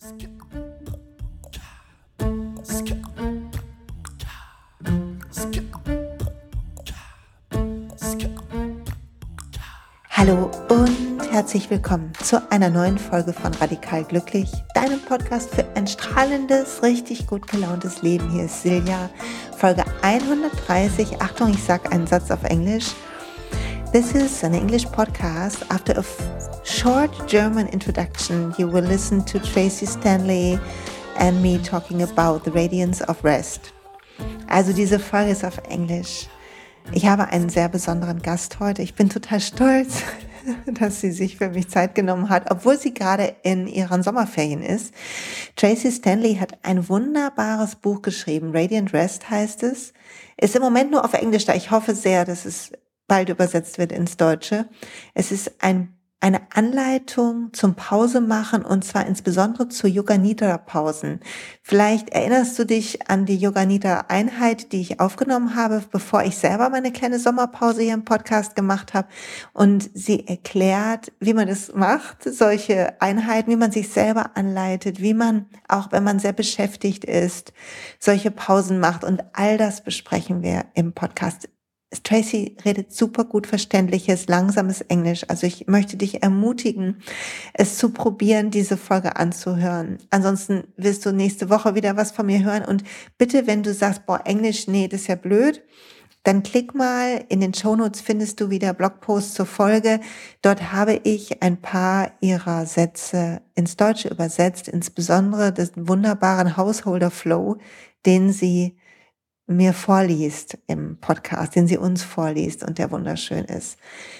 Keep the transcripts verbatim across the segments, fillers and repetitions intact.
Hallo und herzlich willkommen zu einer neuen Folge von Radikal Glücklich, deinem Podcast für ein strahlendes, richtig gut gelauntes Leben. Hier ist Silja, Folge hundertdreißig. Achtung, ich sage einen Satz auf Englisch. This is an English podcast. After a f- short German introduction, you will listen to Tracy Stanley and me talking about the radiance of rest. Also diese Folge ist auf Englisch. Ich habe einen sehr besonderen Gast heute. Ich bin total stolz, dass sie sich für mich Zeit genommen hat, obwohl sie gerade in ihren Sommerferien ist. Tracy Stanley hat ein wunderbares Buch geschrieben. Radiant Rest heißt es. Ist im Moment nur auf Englisch da. Ich hoffe sehr, dass es bald übersetzt wird ins Deutsche. Es ist ein eine Anleitung zum Pausemachen und zwar insbesondere zu Yoga Nidra Pausen. Vielleicht erinnerst du dich an die Yoga Nidra Einheit, die ich aufgenommen habe, bevor ich selber meine kleine Sommerpause hier im Podcast gemacht habe. Und sie erklärt, wie man das macht, solche Einheiten, wie man sich selber anleitet, wie man, auch wenn man sehr beschäftigt ist, solche Pausen macht. Und all das besprechen wir im Podcast. Tracy redet super gut verständliches, langsames Englisch. Also ich möchte dich ermutigen, es zu probieren, diese Folge anzuhören. Ansonsten wirst du nächste Woche wieder was von mir hören. Und bitte, wenn du sagst, boah, Englisch, nee, das ist ja blöd, dann klick mal, in den Shownotes findest du wieder Blogposts zur Folge. Dort habe ich ein paar ihrer Sätze ins Deutsche übersetzt, insbesondere den wunderbaren Householder Flow, den sie mir vorliest im Podcast, den sie uns vorliest und der wunderschön ist.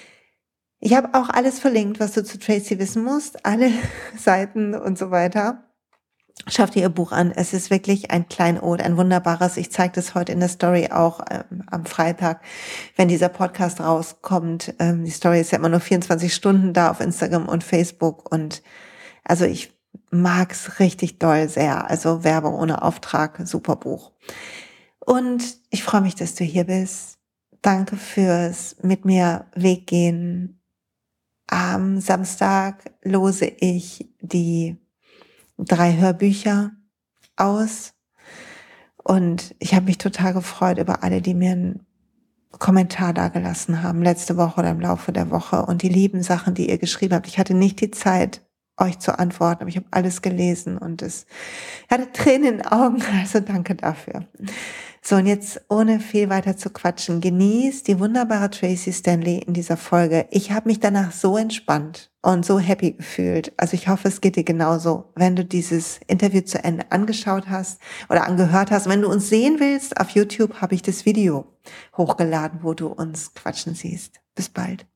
Ich habe auch alles verlinkt, was du zu Tracy wissen musst, alle Seiten und so weiter. Schau dir ihr Buch an. Es ist wirklich ein Kleinod, ein wunderbares. Ich zeige das heute in der Story auch ähm, am Freitag, wenn dieser Podcast rauskommt. Ähm, die Story ist ja immer nur vierundzwanzig Stunden da auf Instagram und Facebook und also ich mag's richtig doll sehr. Also Werbung ohne Auftrag, super Buch. Und ich freue mich, dass du hier bist. Danke fürs mit mir Weggehen. Am Samstag lose ich die drei Hörbücher aus. Und ich habe mich total gefreut über alle, die mir einen Kommentar dagelassen haben, letzte Woche oder im Laufe der Woche. Und die lieben Sachen, die ihr geschrieben habt. Ich hatte nicht die Zeit, euch zu antworten, aber ich habe alles gelesen und es hatte Tränen in den Augen. Also danke dafür. So, und jetzt ohne viel weiter zu quatschen, genießt die wunderbare Tracy Stanley in dieser Folge. Ich habe mich danach so entspannt und so happy gefühlt. Also ich hoffe, es geht dir genauso, wenn du dieses Interview zu Ende angeschaut hast oder angehört hast. Wenn du uns sehen willst, auf YouTube habe ich das Video hochgeladen, wo du uns quatschen siehst. Bis bald.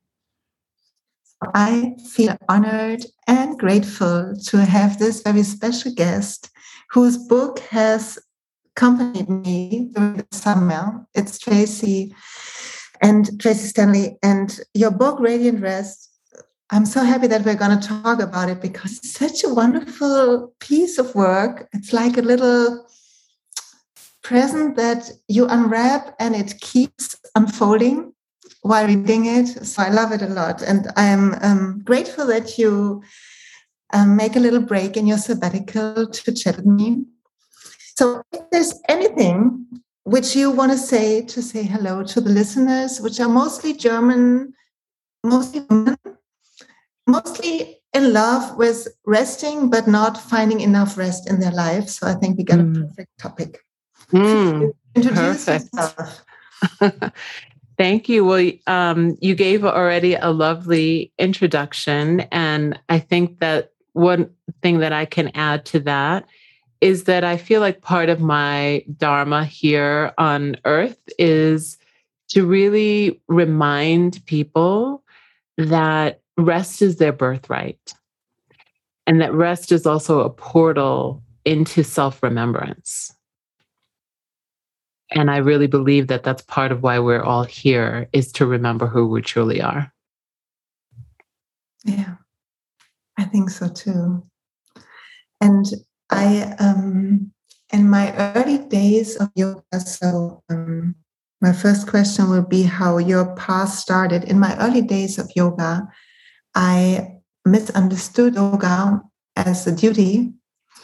I feel honored and grateful to have this very special guest whose book has accompanied me during the summer. It's Tracy and Tracy Stanley. And your book, Radiant Rest, I'm so happy that we're going to talk about it because it's such a wonderful piece of work. It's like a little present that you unwrap and it keeps unfolding while reading it. So I love it a lot. And I'm um, grateful that you um, make a little break in your sabbatical to chat with me. So if there's anything which you want to say to say hello to the listeners, which are mostly German, mostly women, mostly in love with resting, but not finding enough rest in their life. So I think we got mm. a perfect topic. Mm, Introduce perfect. yourself. Thank you. Well, um, you gave already a lovely introduction. And I think that one thing that I can add to that is that I feel like part of my dharma here on earth is to really remind people that rest is their birthright and that rest is also a portal into self-remembrance. And I really believe that that's part of why we're all here, is to remember who we truly are. Yeah, I think so too. And I, um, in my early days of yoga, so um, my first question will be how your path started. In my early days of yoga, I misunderstood yoga as a duty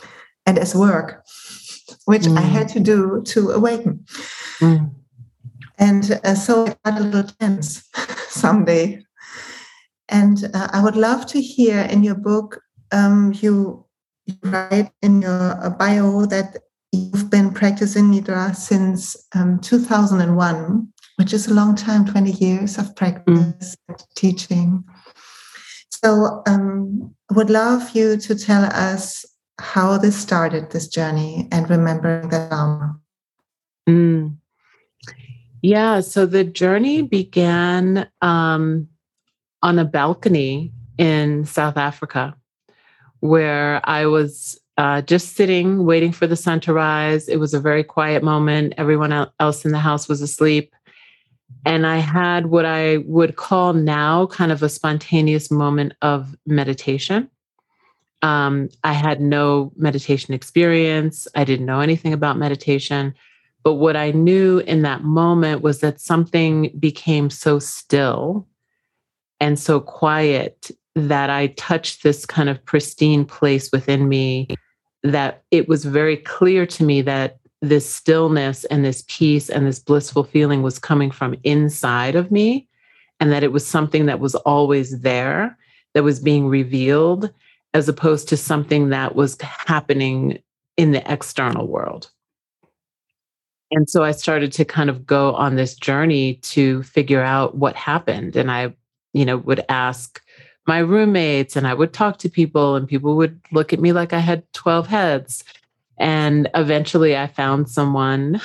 and as work, which mm. I had to do to awaken. Mm. And uh, so I got a little tense someday. And uh, I would love to hear in your book, um, you, you write in your bio that you've been practicing Nidra since um, two thousand one, which is a long time, twenty years of practice mm. and teaching. So um, I would love you to tell us how this started, this journey, and remembering the Dharma. Mm. Yeah, so the journey began um, on a balcony in South Africa, where I was uh, just sitting, waiting for the sun to rise. It was a very quiet moment. Everyone else in the house was asleep. And I had what I would call now kind of a spontaneous moment of meditation. Um, I had no meditation experience. I didn't know anything about meditation. But what I knew in that moment was that something became so still and so quiet that I touched this kind of pristine place within me, that it was very clear to me that this stillness and this peace and this blissful feeling was coming from inside of me, and that it was something that was always there, that was being revealed, as opposed to something that was happening in the external world. And so I started to kind of go on this journey to figure out what happened. And I, you know, would ask my roommates, and I would talk to people, and people would look at me like I had twelve heads. And eventually I found someone,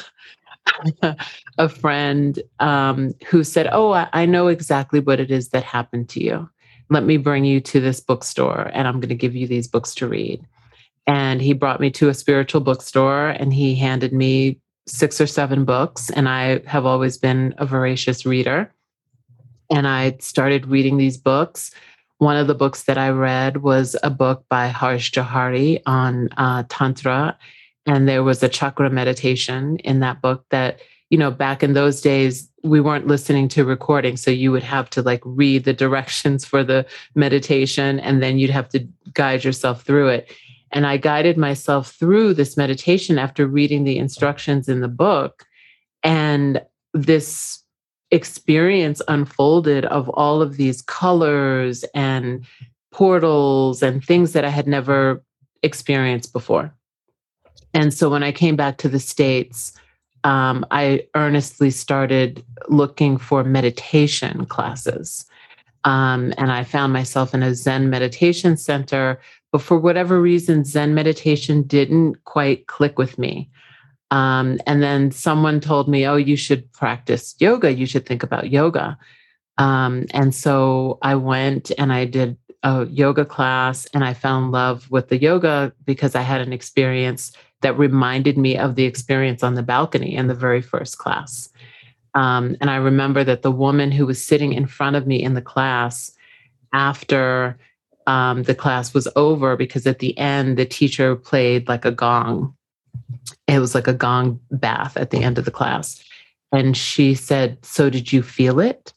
a friend, um, who said, oh, I, I know exactly what it is that happened to you. Let me bring you to this bookstore, and I'm going to give you these books to read. And he brought me to a spiritual bookstore, and he handed me six or seven books. And I have always been a voracious reader. And I started reading these books. One of the books that I read was a book by Harsh Johari on uh, Tantra. And there was a chakra meditation in that book that, you know, back in those days, we weren't listening to recordings. So you would have to like read the directions for the meditation, and then you'd have to guide yourself through it. And I guided myself through this meditation after reading the instructions in the book. And this experience unfolded of all of these colors and portals and things that I had never experienced before. And so when I came back to the States, um, I earnestly started looking for meditation classes. Um, and I found myself in a Zen meditation center, but for whatever reason, Zen meditation didn't quite click with me. Um, and then someone told me, oh, you should practice yoga. You should think about yoga. Um, and so I went and I did a yoga class, and I fell in love with the yoga because I had an experience that reminded me of the experience on the balcony in the very first class. Um, and I remember that the woman who was sitting in front of me in the class, after um, the class was over, because at the end, the teacher played like a gong. It was like a gong bath at the end of the class. And she said, so did you feel it?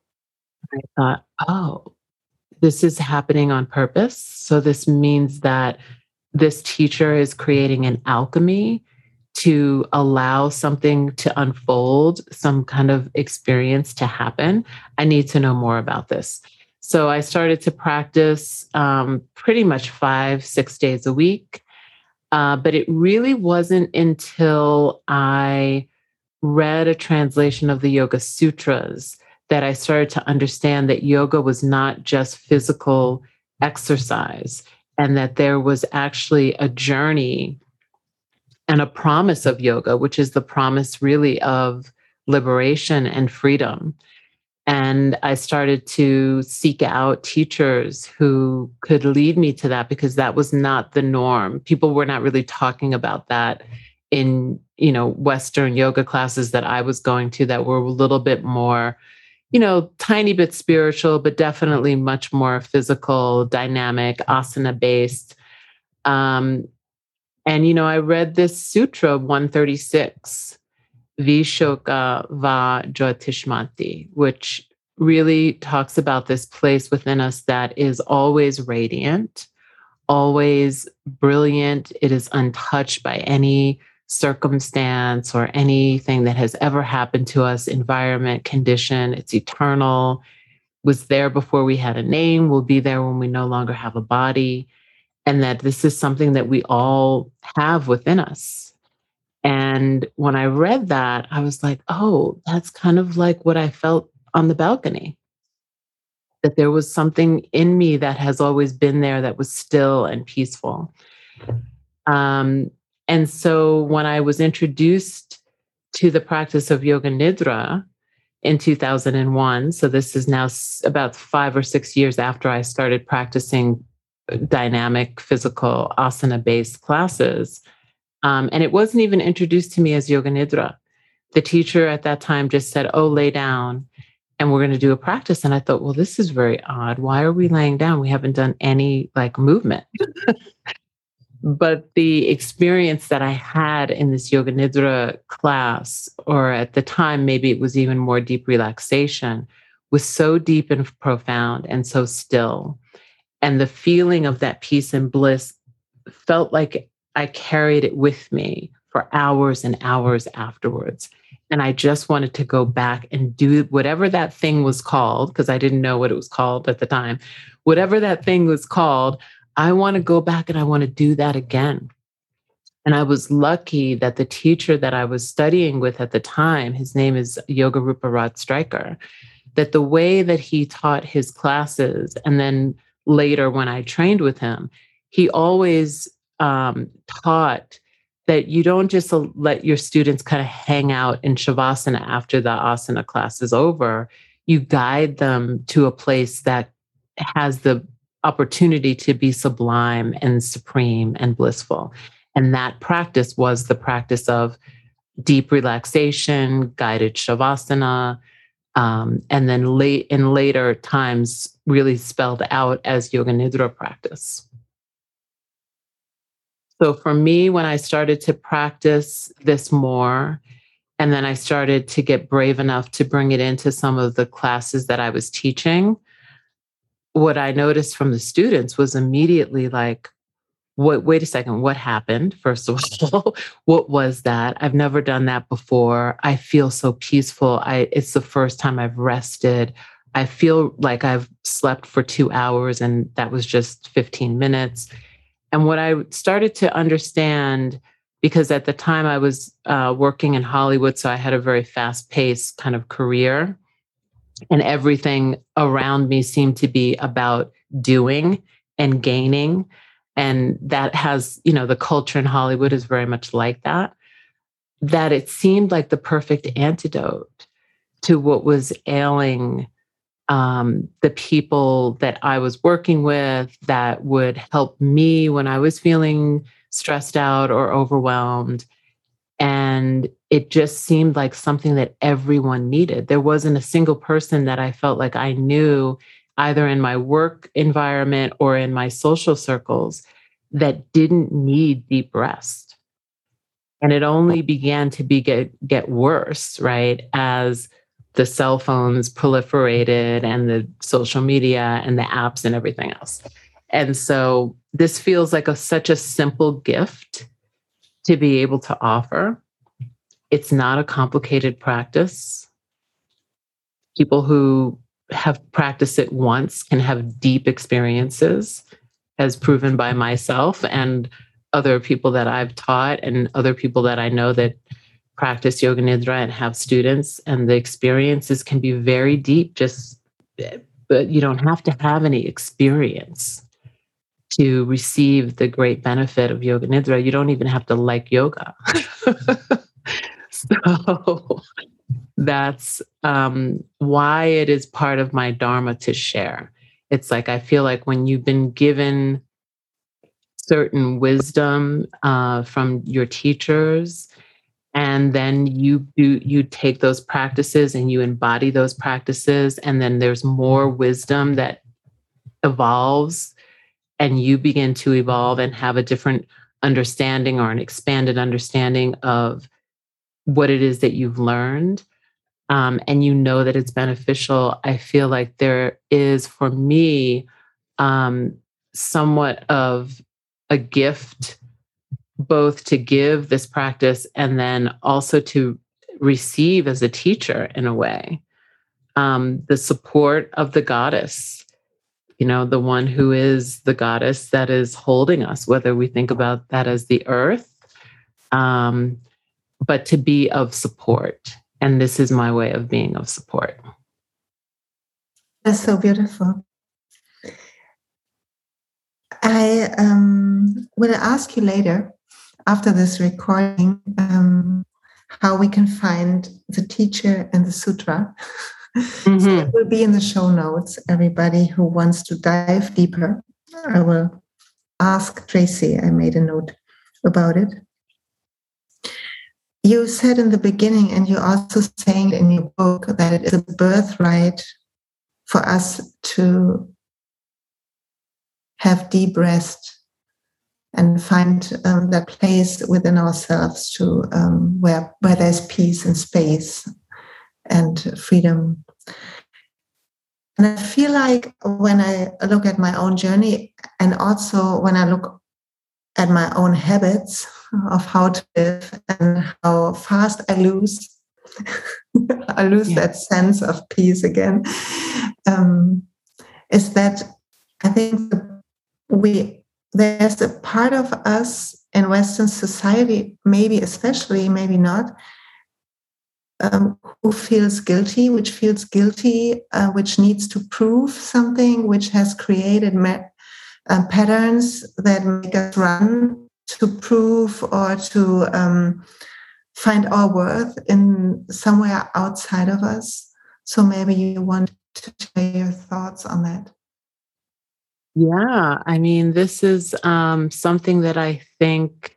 I thought, oh, this is happening on purpose. So this means that this teacher is creating an alchemy to allow something to unfold, some kind of experience to happen. I need to know more about this. So I started to practice um, pretty much five, six days a week. Uh, but it really wasn't until I read a translation of the Yoga Sutras that I started to understand that yoga was not just physical exercise, and that there was actually a journey and a promise of yoga, which is the promise really of liberation and freedom. And I started to seek out teachers who could lead me to that, because that was not the norm. People were not really talking about that in, you know, Western yoga classes that I was going to, that were a little bit more, you know, tiny bit spiritual, but definitely much more physical, dynamic, asana based. Um, and, you know, I read this sutra one thirty-six, Vishoka va Jyotishmanti, which really talks about this place within us that is always radiant, always brilliant. It is untouched by any circumstance or anything that has ever happened to us, environment, condition. It's eternal, was there before we had a name, will be there when we no longer have a body, and that this is something that we all have within us. And when I read that, I was like, oh, that's kind of like what I felt on the balcony, that there was something in me that has always been there that was still and peaceful. Um, and so when I was introduced to the practice of Yoga Nidra in two thousand one, so this is now about five or six years after I started practicing dynamic physical asana-based classes, um, and it wasn't even introduced to me as Yoga Nidra. The teacher at that time just said, oh, lay down, and we're going to do a practice. And I thought, well, this is very odd. Why are we laying down? We haven't done any like movement. But the experience that I had in this Yoga Nidra class, or at the time, maybe it was even more deep relaxation, was so deep and profound and so still. And the feeling of that peace and bliss felt like I carried it with me for hours and hours afterwards. And I just wanted to go back and do whatever that thing was called, because I didn't know what it was called at the time. Whatever that thing was called, I want to go back and I want to do that again. And I was lucky that the teacher that I was studying with at the time, his name is Yogarupa Rod Stryker, that the way that he taught his classes, and then later when I trained with him, he always um, taught that you don't just let your students kind of hang out in Shavasana after the asana class is over. You guide them to a place that has the opportunity to be sublime and supreme and blissful. And that practice was the practice of deep relaxation, guided Shavasana, um, and then late in later times really spelled out as Yoga Nidra practice. So for me, when I started to practice this more, and then I started to get brave enough to bring it into some of the classes that I was teaching, what I noticed from the students was immediately like, what, wait a second, what happened? First of all, what was that? I've never done that before. I feel so peaceful. I, it's the first time I've rested. I feel like I've slept for two hours and that was just fifteen minutes. And what I started to understand, because at the time I was uh, working in Hollywood, so I had a very fast-paced kind of career, and everything around me seemed to be about doing and gaining. And that has, you know, the culture in Hollywood is very much like that, that it seemed like the perfect antidote to what was ailing um, the people that I was working with, that would help me when I was feeling stressed out or overwhelmed. And it just seemed like something that everyone needed. There wasn't a single person that I felt like I knew, either in my work environment or in my social circles, that didn't need deep rest. And it only began to be get, get worse, right, as the cell phones proliferated and the social media and the apps and everything else. And so this feels like a, such a simple gift to be able to offer. It's not a complicated practice. People who have practiced it once can have deep experiences, as proven by myself and other people that I've taught and other people that I know that practice Yoga Nidra and have students. And the experiences can be very deep, just, but you don't have to have any experience to receive the great benefit of Yoga Nidra. You don't even have to like yoga. So that's um, why it is part of my dharma to share. It's like, I feel like when you've been given certain wisdom uh, from your teachers, and then you do, you take those practices and you embody those practices, and then there's more wisdom that evolves, and you begin to evolve and have a different understanding or an expanded understanding of what it is that you've learned. Um, and you know that it's beneficial. I feel like there is, for me, um, somewhat of a gift, both to give this practice and then also to receive as a teacher in a way. Um, the support of the goddess, you know, the one who is the goddess that is holding us, whether we think about that as the earth, um, but to be of support. And this is my way of being of support. That's so beautiful. I um, will ask you later, after this recording, um, how we can find the teacher and the sutra. Mm-hmm. So it will be in the show notes. Everybody who wants to dive deeper, I will ask Tracy. I made a note about it. You said in the beginning, and you're also saying in your book, that it is a birthright for us to have deep rest and find um, that place within ourselves to um, where where there's peace and space and freedom. And I feel like when I look at my own journey, and also when I look at my own habits of how to live and how fast I lose, I lose yeah. that sense of peace again, um, is that I think we there's a part of us in Western society, maybe especially, maybe not, um, who feels guilty, which feels guilty, uh, which needs to prove something, which has created ma- uh, patterns that make us run to prove or to um, find our worth in somewhere outside of us. So maybe you want to share your thoughts on that. Yeah, I mean, this is um, something that I think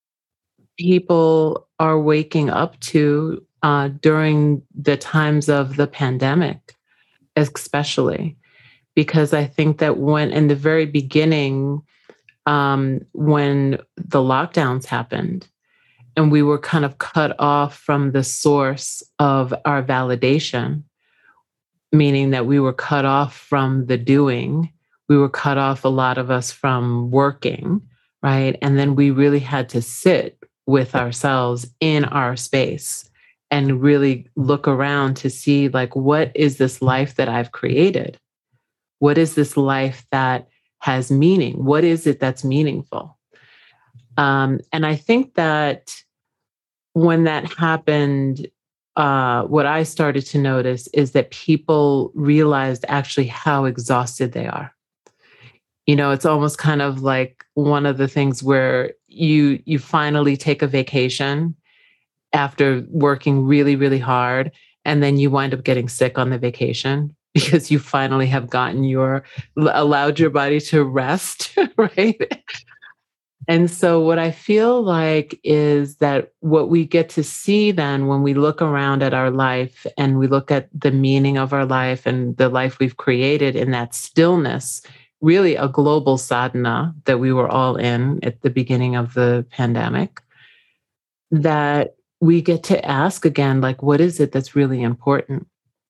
people are waking up to uh, during the times of the pandemic, especially, because I think that when in the very beginning, um, when the lockdowns happened and we were kind of cut off from the source of our validation, meaning that we were cut off from the doing, we were cut off, a lot of us, from working, right? And then we really had to sit with ourselves in our space and really look around to see, like, what is this life that I've created? What is this life that has meaning? What is it that's meaningful? Um, and I think that when that happened, uh, what I started to notice is that people realized actually how exhausted they are. You know, it's almost kind of like one of the things where you you finally take a vacation after working really, really hard, and then you wind up getting sick on the vacation because you finally have gotten your, allowed your body to rest, right? And so what I feel like is that what we get to see then when we look around at our life and we look at the meaning of our life and the life we've created in that stillness, really a global sadhana that we were all in at the beginning of the pandemic, that we get to ask again, like, what is it that's really important?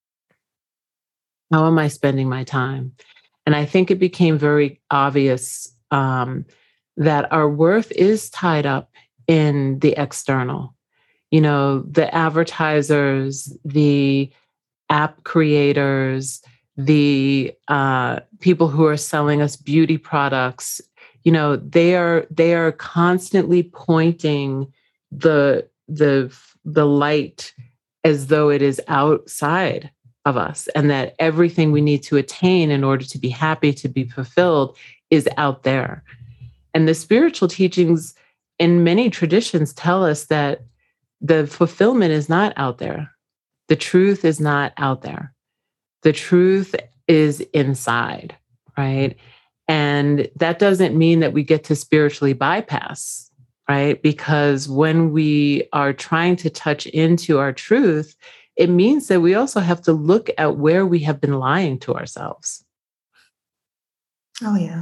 How am I spending my time? And I think it became very obvious um, that our worth is tied up in the external. You know, the advertisers, the app creators, the uh, people who are selling us beauty products, you know, they are they are constantly pointing the the the light as though it is outside of us, and that everything we need to attain in order to be happy, to be fulfilled, is out there. And the spiritual teachings in many traditions tell us that the fulfillment is not out there. The truth is not out there. The truth is inside, right? And that doesn't mean that we get to spiritually bypass, right? Because when we are trying to touch into our truth, it means that we also have to look at where we have been lying to ourselves. Oh, yeah.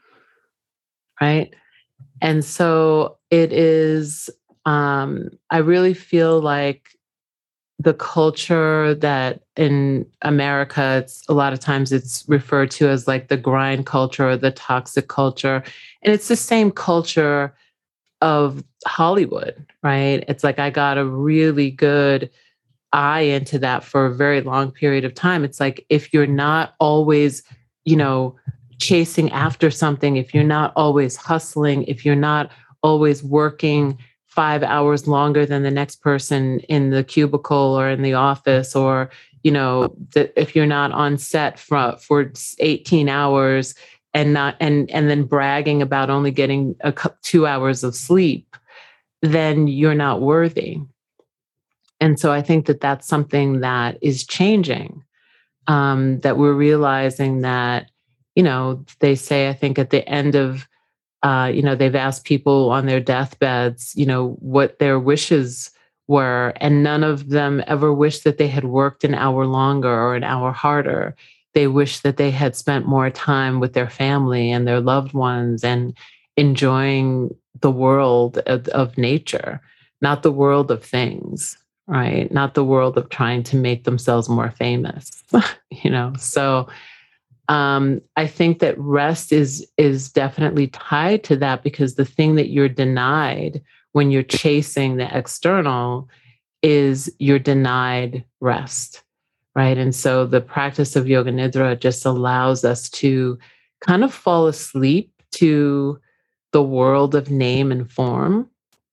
Right? And so it is, um, I really feel like the culture that in America, it's a lot of times it's referred to as like the grind culture or the toxic culture. And it's the same culture of Hollywood, right? It's like I got a really good eye into that for a very long period of time. It's like if you're not always, you know, chasing after something, if you're not always hustling, if you're not always working five hours longer than the next person in the cubicle or in the office, or, you know, that if you're not on set for, for eighteen hours and not, and, and then bragging about only getting a couple, two hours of sleep, then you're not worthy. And so I think that that's something that is changing, um, that we're realizing that, you know, they say, I think at the end of, uh, you know, they've asked people on their deathbeds, you know, what their wishes were, and none of them ever wished that they had worked an hour longer or an hour harder. They wished that they had spent more time with their family and their loved ones and enjoying the world of, of nature, not the world of things, right? Not the world of trying to make themselves more famous, you know? So um, I think that rest is, is definitely tied to that, because the thing that you're denied when you're chasing the external is you're denied rest, right? And so the practice of Yoga Nidra just allows us to kind of fall asleep to the world of name and form,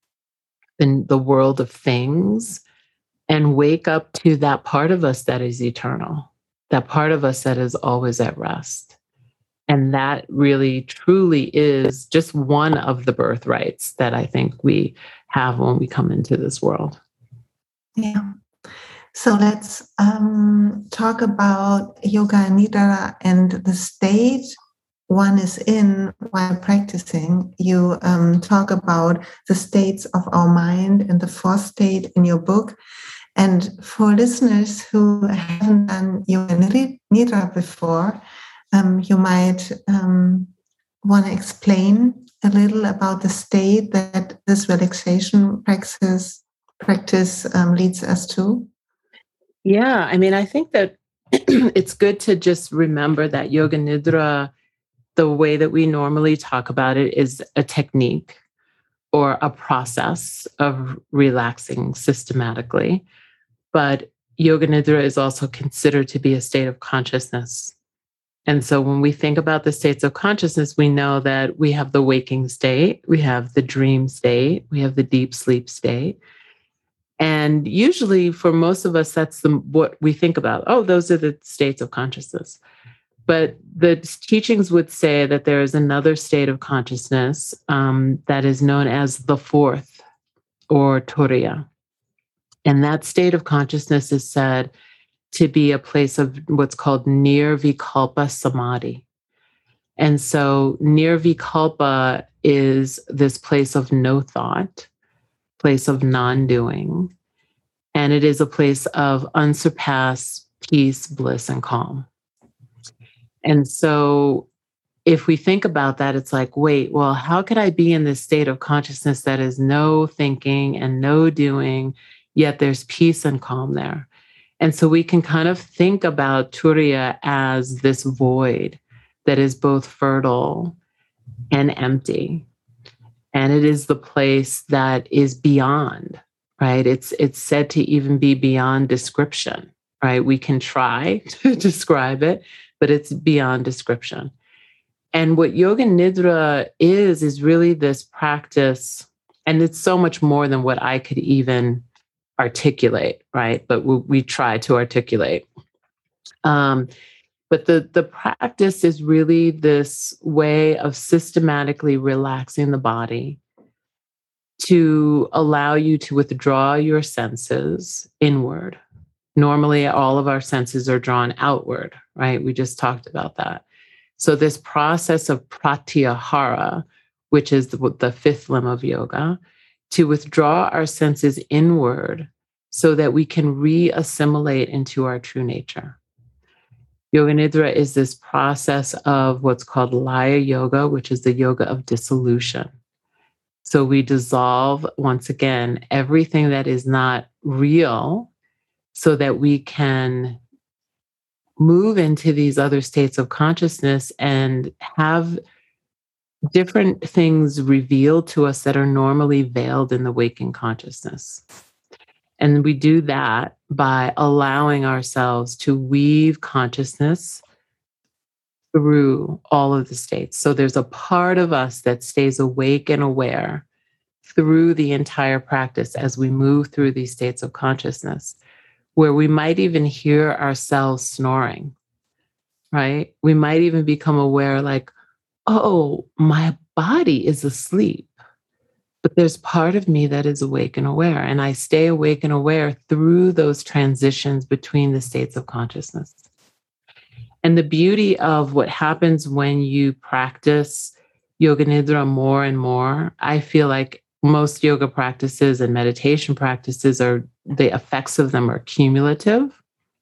and the world of things, and wake up to that part of us that is eternal, that part of us that is always at rest. And that really, truly is just one of the birthrights that I think we have when we come into this world. Yeah. So let's um, talk about Yoga Nidra and the state one is in while practicing. You um, talk about the states of our mind and the fourth state in your book. And for listeners who haven't done Yoga Nidra before, um, you might um, want to explain a little about the state that this relaxation practice practice um, leads us to. Yeah, I mean, I think that it's good to just remember that Yoga Nidra, the way that we normally talk about it, is a technique or a process of relaxing systematically. But Yoga Nidra is also considered to be a state of consciousness. And so when we think about the states of consciousness, we know that we have the waking state, we have the dream state, we have the deep sleep state. And usually for most of us, that's the, what we think about. Oh, those are the states of consciousness. But the teachings would say that there is another state of consciousness um, that is known as the fourth, or Turiya. And that state of consciousness is said to be a place of what's called Nirvikalpa Samadhi. And so Nirvikalpa is this place of no thought, place of non-doing, and it is a place of unsurpassed peace, bliss, and calm. And so if we think about that, it's like, wait, well, how could I be in this state of consciousness that is no thinking and no doing, yet there's peace and calm there? And so we can kind of think about Turiya as this void that is both fertile and empty. And it is the place that is beyond, right? It's, it's said to even be beyond description, right? We can try to describe it, but it's beyond description. And what Yoga Nidra is, is really this practice, and it's so much more than what I could even articulate, right? But we, we try to articulate. Um, but the, the practice is really this way of systematically relaxing the body to allow you to withdraw your senses inward. Normally, all of our senses are drawn outward, right? We just talked about that. So this process of pratyahara, which is the, the fifth limb of yoga, to withdraw our senses inward so that we can re-assimilate into our true nature. Yoga Nidra is this process of what's called Laya Yoga, which is the yoga of dissolution. So we dissolve, once again, everything that is not real so that we can move into these other states of consciousness and have different things revealed to us that are normally veiled in the waking consciousness. And we do that by allowing ourselves to weave consciousness through all of the states. So there's a part of us that stays awake and aware through the entire practice as we move through these states of consciousness, where we might even hear ourselves snoring, right? We might even become aware like, oh, my body is asleep, but there's part of me that is awake and aware. And I stay awake and aware through those transitions between the states of consciousness. And the beauty of what happens when you practice Yoga Nidra more and more, I feel like most yoga practices and meditation practices are, the effects of them are cumulative,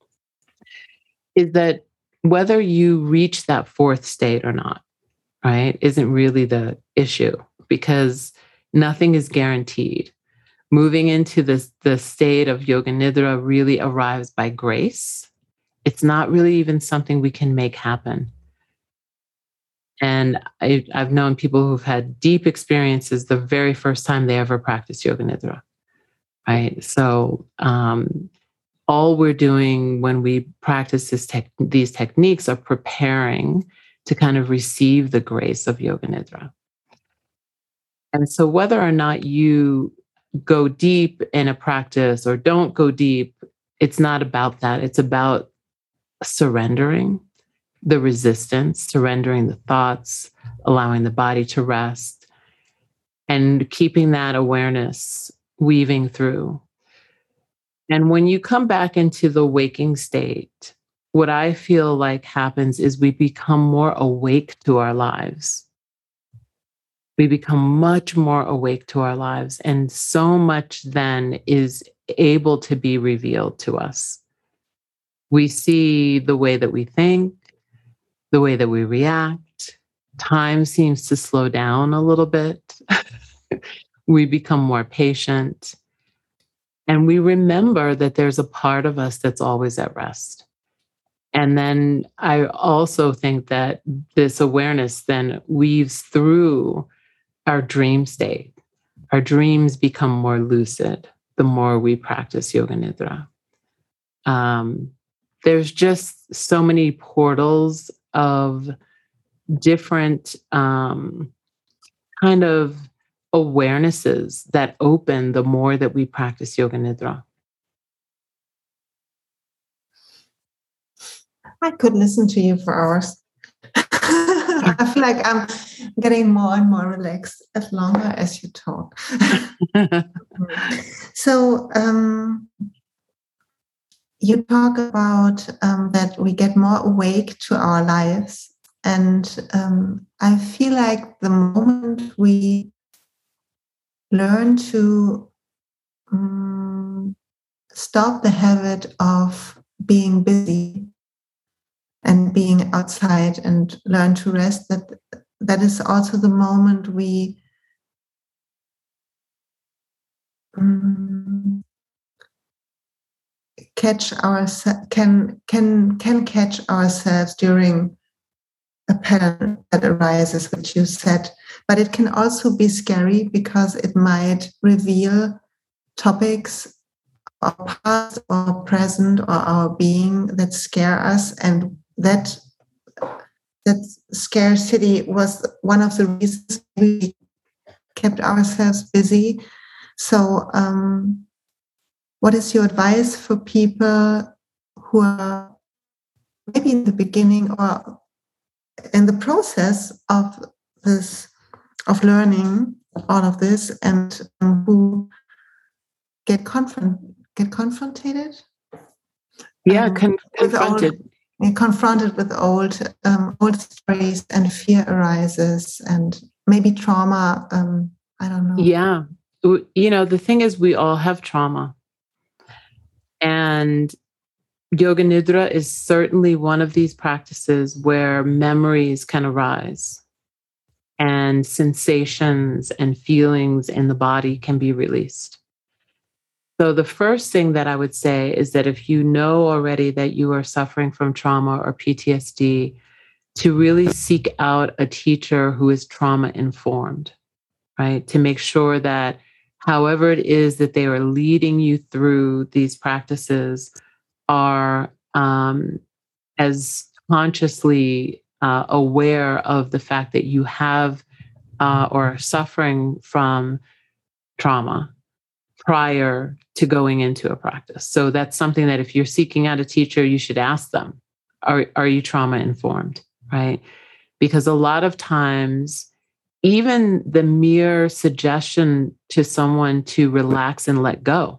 is that whether you reach that fourth state or not, right, isn't really the issue, because nothing is guaranteed. Moving into this, the state of Yoga Nidra really arrives by grace. It's not really even something we can make happen. And I, I've known people who've had deep experiences the very first time they ever practiced Yoga Nidra, right? So um, all we're doing when we practice this tech, these techniques are preparing to kind of receive the grace of Yoga Nidra. And so whether or not you go deep in a practice or don't go deep, it's not about that. It's about surrendering the resistance, surrendering the thoughts, allowing the body to rest, and keeping that awareness weaving through. And when you come back into the waking state, what I feel like happens is we become more awake to our lives. We become much more awake to our lives, and so much then is able to be revealed to us. We see the way that we think, the way that we react. Time seems to slow down a little bit. We become more patient. And we remember that there's a part of us that's always at rest. And then I also think that this awareness then weaves through our dream state. Our dreams become more lucid the more we practice Yoga Nidra. Um, there's just so many portals of different um, kind of awarenesses that open the more that we practice Yoga Nidra. I could listen to you for hours. I feel like I'm getting more and more relaxed as longer as you talk. So um, you talk about um, that we get more awake to our lives. And um, I feel like the moment we learn to um, stop the habit of being busy and being outside and learn to rest, that that is also the moment we um, catch our can can can catch ourselves during a pattern that arises, which you said. But it can also be scary because it might reveal topics or past or present or our being that scare us, and that that scarcity was one of the reasons we kept ourselves busy. So um, what is your advice for people who are maybe in the beginning or in the process of this, of learning all of this, and um, who get confront get confronted? Yeah, um, con- confronted. Old, confronted with old um, old stories, and fear arises, and maybe trauma. Um, I don't know. Yeah, you know, the thing is, we all have trauma, and Yoga Nidra is certainly one of these practices where memories can arise and sensations and feelings in the body can be released. So the first thing that I would say is that if you know already that you are suffering from trauma or P T S D, to really seek out a teacher who is trauma informed, right? To make sure that however it is that they are leading you through these practices are um, as consciously uh, aware of the fact that you have uh, or are suffering from trauma prior to going into a practice. So that's something that if you're seeking out a teacher, you should ask them, are, are you trauma informed, right? Because a lot of times, even the mere suggestion to someone to relax and let go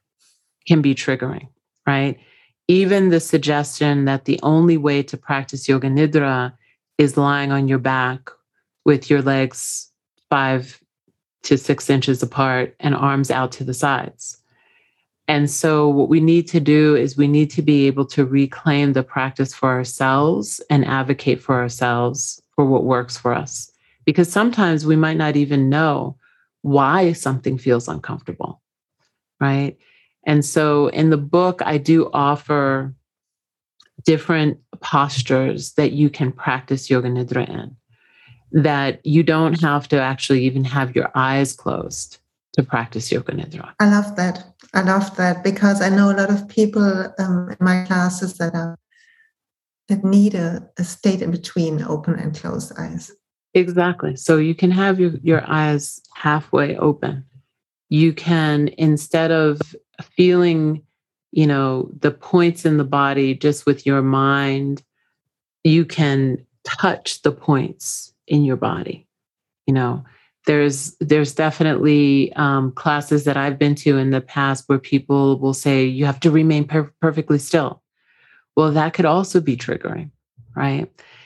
can be triggering, right? Even the suggestion that the only way to practice Yoga Nidra is lying on your back with your legs five to six inches apart and arms out to the sides. And so what we need to do is we need to be able to reclaim the practice for ourselves and advocate for ourselves for what works for us. Because sometimes we might not even know why something feels uncomfortable, right? And so in the book, I do offer different postures that you can practice Yoga Nidra in, that you don't have to actually even have your eyes closed to practice Yoga Nidra. I love that. I love that because I know a lot of people um, in my classes that are that need a, a state in between open and closed eyes. Exactly. So you can have your, your eyes halfway open. You can, instead of feeling, you know, the points in the body just with your mind, you can touch the points in your body. You know, there's there's definitely um, classes that I've been to in the past where people will say, you have to remain per- perfectly still. Well, that could also be triggering, right?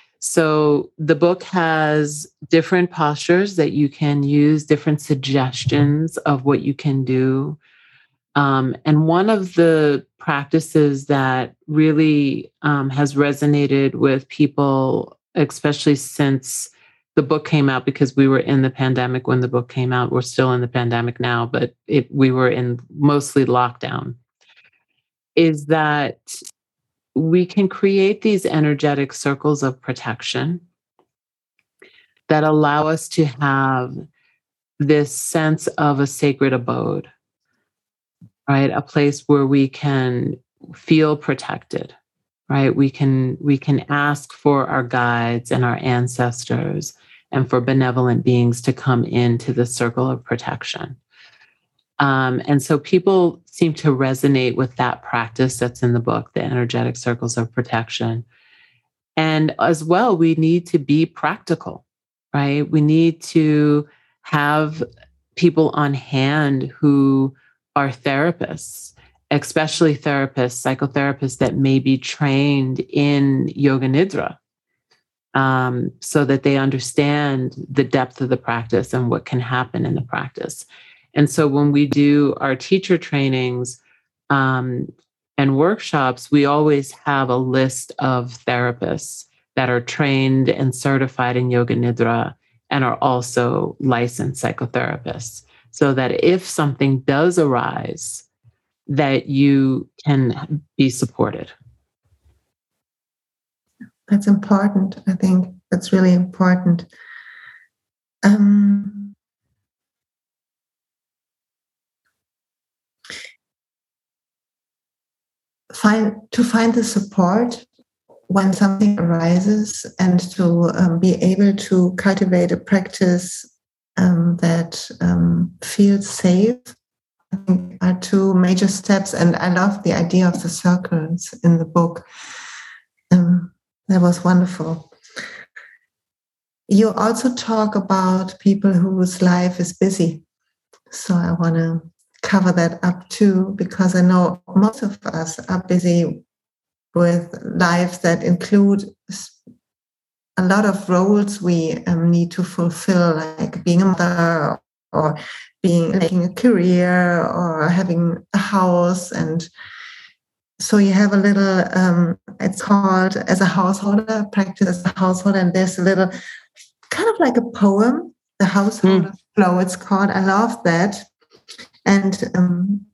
So the book has different postures that you can use, different suggestions of what you can do. Um, and one of the practices that really um, has resonated with people, especially since the book came out, because we were in the pandemic when the book came out. We're still in the pandemic now, but it, we were in mostly lockdown, is that we can create these energetic circles of protection that allow us to have this sense of a sacred abode, right? A place where we can feel protected, right? We can, we can ask for our guides and our ancestors and for benevolent beings to come into the circle of protection. Um, and so people seem to resonate with that practice that's in the book, the energetic circles of protection. And as well, we need to be practical, right? We need to have people on hand who are therapists, especially therapists, psychotherapists that may be trained in Yoga Nidra, um, so that they understand the depth of the practice and what can happen in the practice. And so when we do our teacher trainings um, and workshops, we always have a list of therapists that are trained and certified in Yoga Nidra and are also licensed psychotherapists, so that if something does arise, that you can be supported. That's important. I think that's really important. Um, Find, to find the support when something arises and to um, be able to cultivate a practice um, that um, feels safe, I think are two major steps. And I love the idea of the circles in the book. Um, that was wonderful. You also talk about people whose life is busy. So I want to cover that up too, because I know most of us are busy with lives that include a lot of roles we um, need to fulfill, like being a mother or being making a career or having a house. And so you have a little, um, it's called as a householder, practice as a householder, and there's a little kind of like a poem, the householder mm. flow it's called. I love that. And um,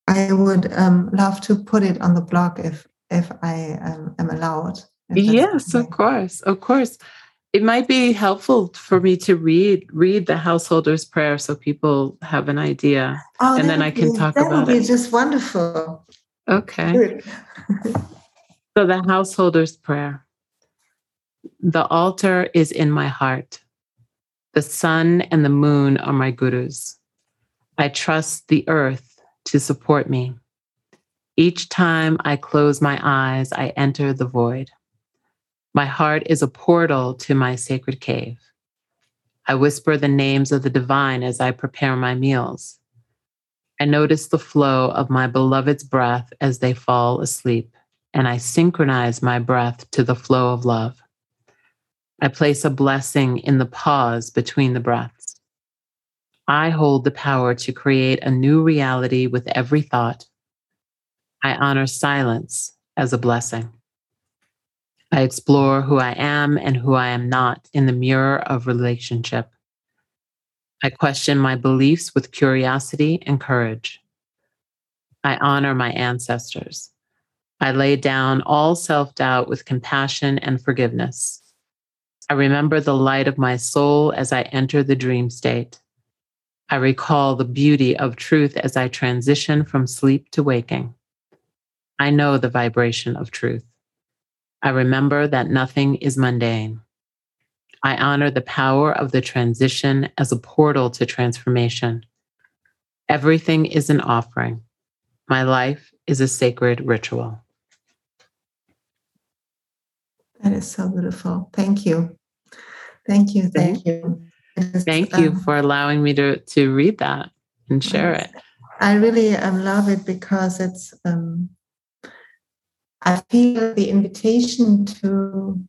I would um, love to put it on the blog if if I um, am allowed. Yes, okay. Of course, of course. It might be helpful for me to read read the Householder's Prayer so people have an idea, oh, and then I can be, talk that about would be it. Just wonderful. Okay. So the Householder's Prayer. The altar is in my heart. The sun and the moon are my gurus. I trust the earth to support me. Each time I close my eyes, I enter the void. My heart is a portal to my sacred cave. I whisper the names of the divine as I prepare my meals. I notice the flow of my beloved's breath as they fall asleep, and I synchronize my breath to the flow of love. I place a blessing in the pause between the breaths. I hold the power to create a new reality with every thought. I honor silence as a blessing. I explore who I am and who I am not in the mirror of relationship. I question my beliefs with curiosity and courage. I honor my ancestors. I lay down all self-doubt with compassion and forgiveness. I remember the light of my soul as I enter the dream state. I recall the beauty of truth as I transition from sleep to waking. I know the vibration of truth. I remember that nothing is mundane. I honor the power of the transition as a portal to transformation. Everything is an offering. My life is a sacred ritual. That is so beautiful. Thank you. Thank you. Thank you. Thank you um, for allowing me to, to read that and share it. I really um, love it because it's, um, I feel the invitation to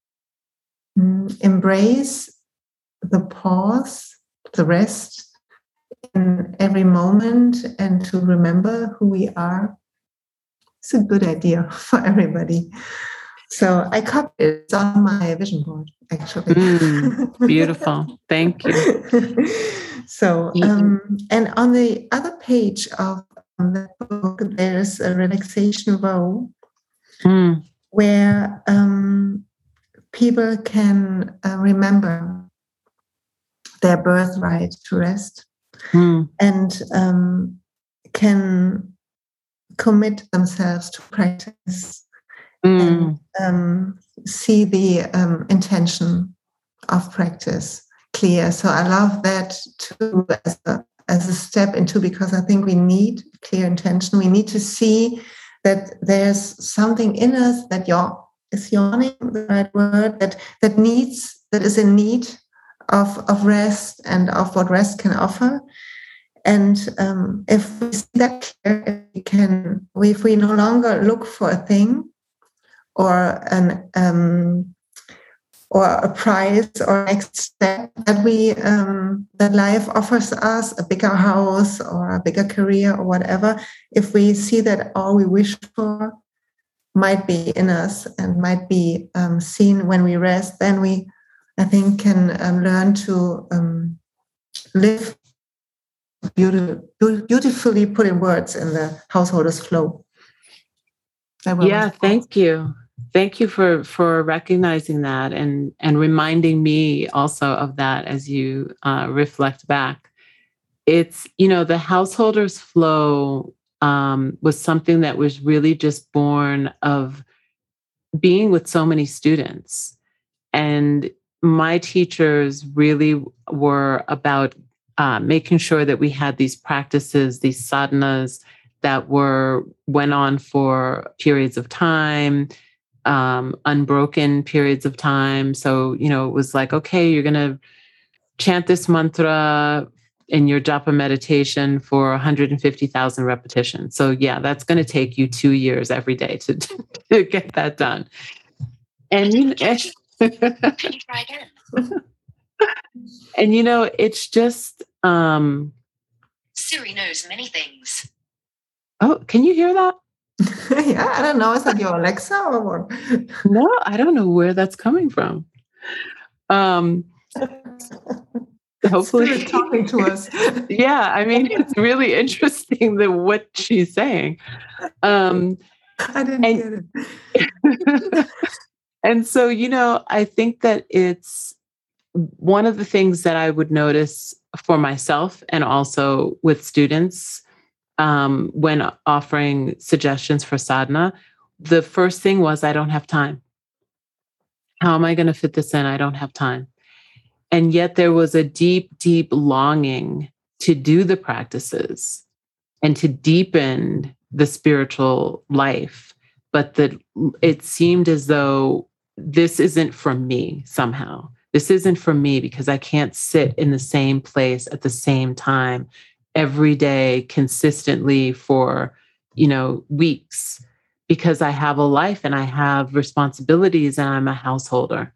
um, embrace the pause, the rest in every moment, and to remember who we are. It's a good idea for everybody. So I copied it. It's on my vision board, actually. Mm, beautiful. Thank you. So, um, and on the other page of the book, there's a relaxation row mm. where um, people can uh, remember their birthright to rest mm. and um, can commit themselves to practice mm. and um, see the um, intention of practice clear. So I love that too as a, as a step into, because I think we need clear intention. We need to see that there's something in us that yawn, is yawning the right word, that that needs, that is in need of, of rest and of what rest can offer. And um, if we see that clear, if we can, if we no longer look for a thing or an um, or a prize or next step that we um, that life offers us, a bigger house or a bigger career or whatever, if we see that all we wish for might be in us and might be um, seen when we rest, then we, I think, can um, learn to um, live beautiful, beautifully put in words in the Householder's Flow. Yeah, thank you. Thank you for, for recognizing that and, and reminding me also of that as you uh, reflect back. It's, you know, the Householder's Flow um, was something that was really just born of being with so many students. And my teachers really were about uh, making sure that we had these practices, these sadhanas that were went on for periods of time, um, unbroken periods of time. So, you know, it was like, okay, you're going to chant this mantra in your japa meditation for one hundred fifty thousand repetitions. So yeah, that's going to take you two years every day to, to get that done. And you know, can you try again? And you know, it's just um Siri knows many things. Oh, can you hear that? Yeah, I don't know. Is that your Alexa or what? No, I don't know where that's coming from. Um, hopefully Spirit talking to us. Yeah, I mean, it's really interesting that what she's saying. Um, I didn't and, get it. And so, you know, I think that it's one of the things that I would notice for myself and also with students um, when offering suggestions for sadhana. The first thing was, I don't have time. How am I going to fit this in? I don't have time. And yet there was a deep, deep longing to do the practices and to deepen the spiritual life. But that it seemed as though this isn't from me somehow. This isn't from me because I can't sit in the same place at the same time every day consistently for, you know, weeks, because I have a life and I have responsibilities and I'm a householder.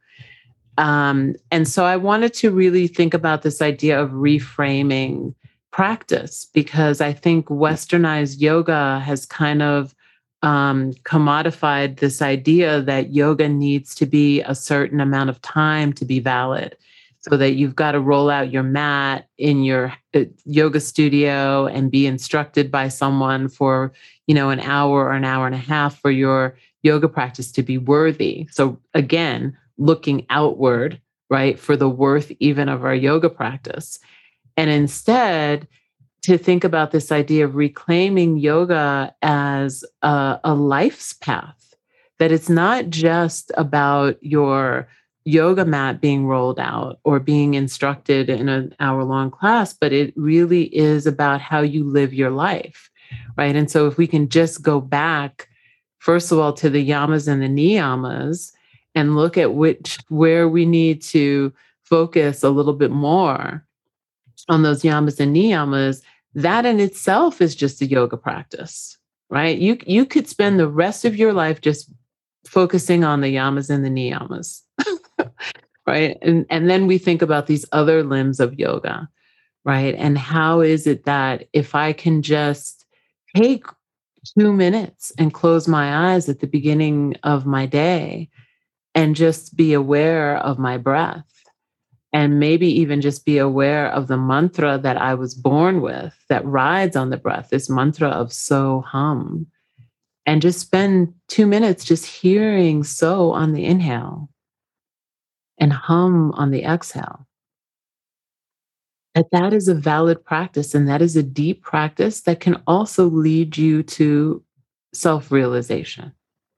Um, and so I wanted to really think about this idea of reframing practice, because I think westernized yoga has kind of um, commodified this idea that yoga needs to be a certain amount of time to be valid. So that you've got to roll out your mat in your uh, yoga studio and be instructed by someone for, you know, an hour or an hour and a half for your yoga practice to be worthy. So again, looking outward, right, for the worth even of our yoga practice. And instead, to think about this idea of reclaiming yoga as a, a life's path, that it's not just about your yoga mat being rolled out or being instructed in an hour-long class, but it really is about how you live your life, right? And so if we can just go back, first of all, to the yamas and the niyamas and look at which where we need to focus a little bit more on those yamas and niyamas, that in itself is just a yoga practice, right? You, you could spend the rest of your life just focusing on the yamas and the niyamas, right? And, and then we think about these other limbs of yoga, right? And how is it that if I can just take two minutes and close my eyes at the beginning of my day and just be aware of my breath, and maybe even just be aware of the mantra that I was born with that rides on the breath, this mantra of So Hum, and just spend two minutes just hearing So on the inhale and Hum on the exhale. That that is a valid practice, and that is a deep practice that can also lead you to self-realization.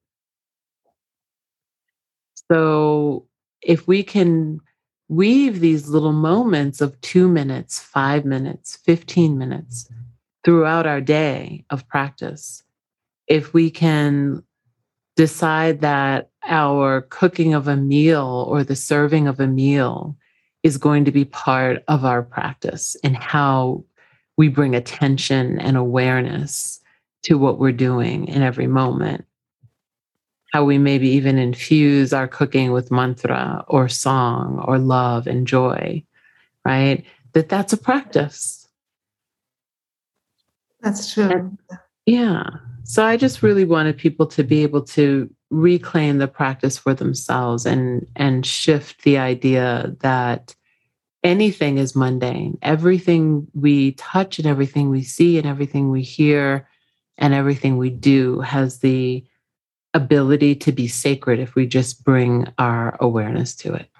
So if we can weave these little moments of two minutes, five minutes, fifteen minutes throughout our day of practice, if we can decide that our cooking of a meal or the serving of a meal is going to be part of our practice and how we bring attention and awareness to what we're doing in every moment, how we maybe even infuse our cooking with mantra or song or love and joy, right? That that's a practice. That's true. And, yeah. So I just really wanted people to be able to reclaim the practice for themselves and, and shift the idea that anything is mundane. Everything we touch and everything we see and everything we hear and everything we do has the ability to be sacred if we just bring our awareness to it.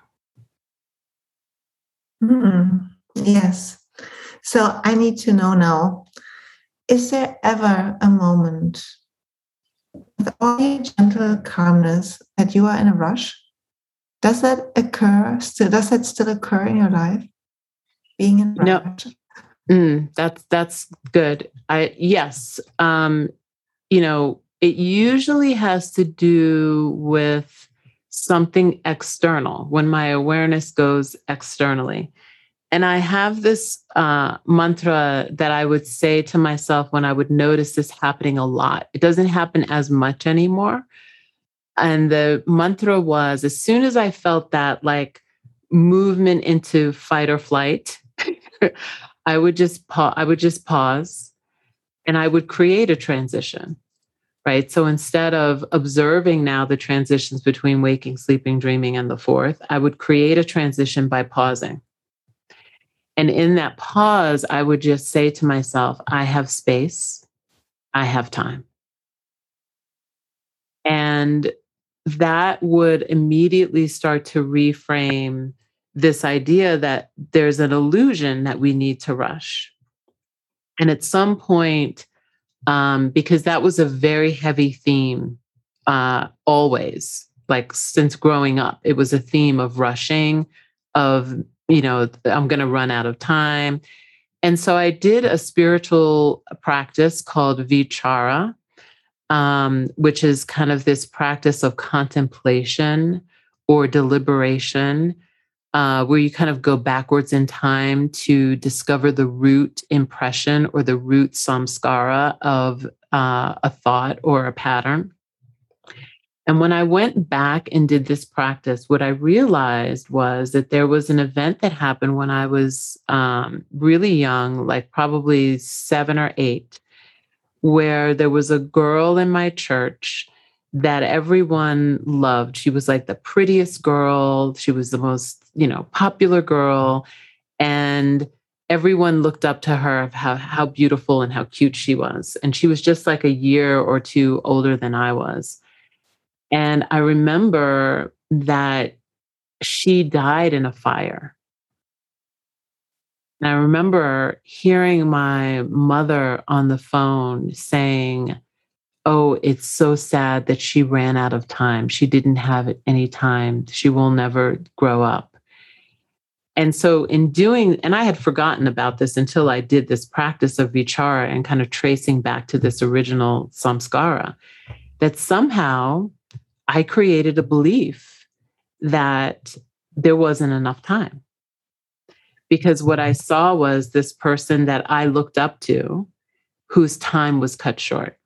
Mm, yes. So I need to know now, is there ever a moment with all your gentle calmness that you are in a rush? Does that occur still? Does that still occur in your life? Being in a no. rush? Mm, that's, that's good. I, yes. Um, you know, it usually has to do with something external, when my awareness goes externally. And I have this uh, mantra that I would say to myself when I would notice this happening a lot. It doesn't happen as much anymore. And the mantra was, as soon as I felt that like movement into fight or flight, I would just pa- I would just pause and I would create a transition. Right. So instead of observing now the transitions between waking, sleeping, dreaming, and the fourth, I would create a transition by pausing. And in that pause, I would just say to myself, I have space, I have time. And that would immediately start to reframe this idea that there's an illusion that we need to rush. And at some point, um, because that was a very heavy theme, uh, always, like since growing up, it was a theme of rushing, of, you know, I'm going to run out of time. And so I did a spiritual practice called Vichara, um, which is kind of this practice of contemplation or deliberation, Uh, where you kind of go backwards in time to discover the root impression or the root samskara of uh, a thought or a pattern. And when I went back and did this practice, what I realized was that there was an event that happened when I was um, really young, like probably seven or eight, where there was a girl in my church that everyone loved. She was like the prettiest girl. She was the most, you know, popular girl. And everyone looked up to her of how, how beautiful and how cute she was. And she was just like a year or two older than I was. And I remember that she died in a fire. And I remember hearing my mother on the phone saying, oh, it's so sad that she ran out of time. She didn't have any time. She will never grow up. And so in doing, and I had forgotten about this until I did this practice of vichara and kind of tracing back to this original samskara, that somehow I created a belief that there wasn't enough time. Because what I saw was this person that I looked up to whose time was cut short.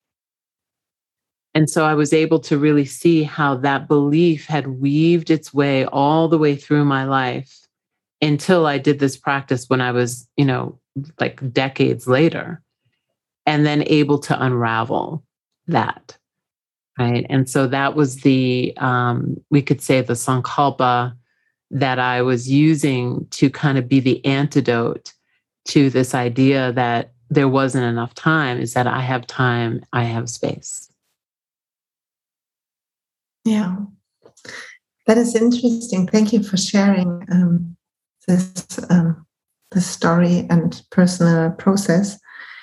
And so I was able to really see how that belief had weaved its way all the way through my life until I did this practice when I was, you know, like decades later, and then able to unravel that, right? And so that was the, um, we could say the sankalpa that I was using to kind of be the antidote to this idea that there wasn't enough time, is that I have time, I have space. Yeah, that is interesting. Thank you for sharing um, this um, this story and personal process.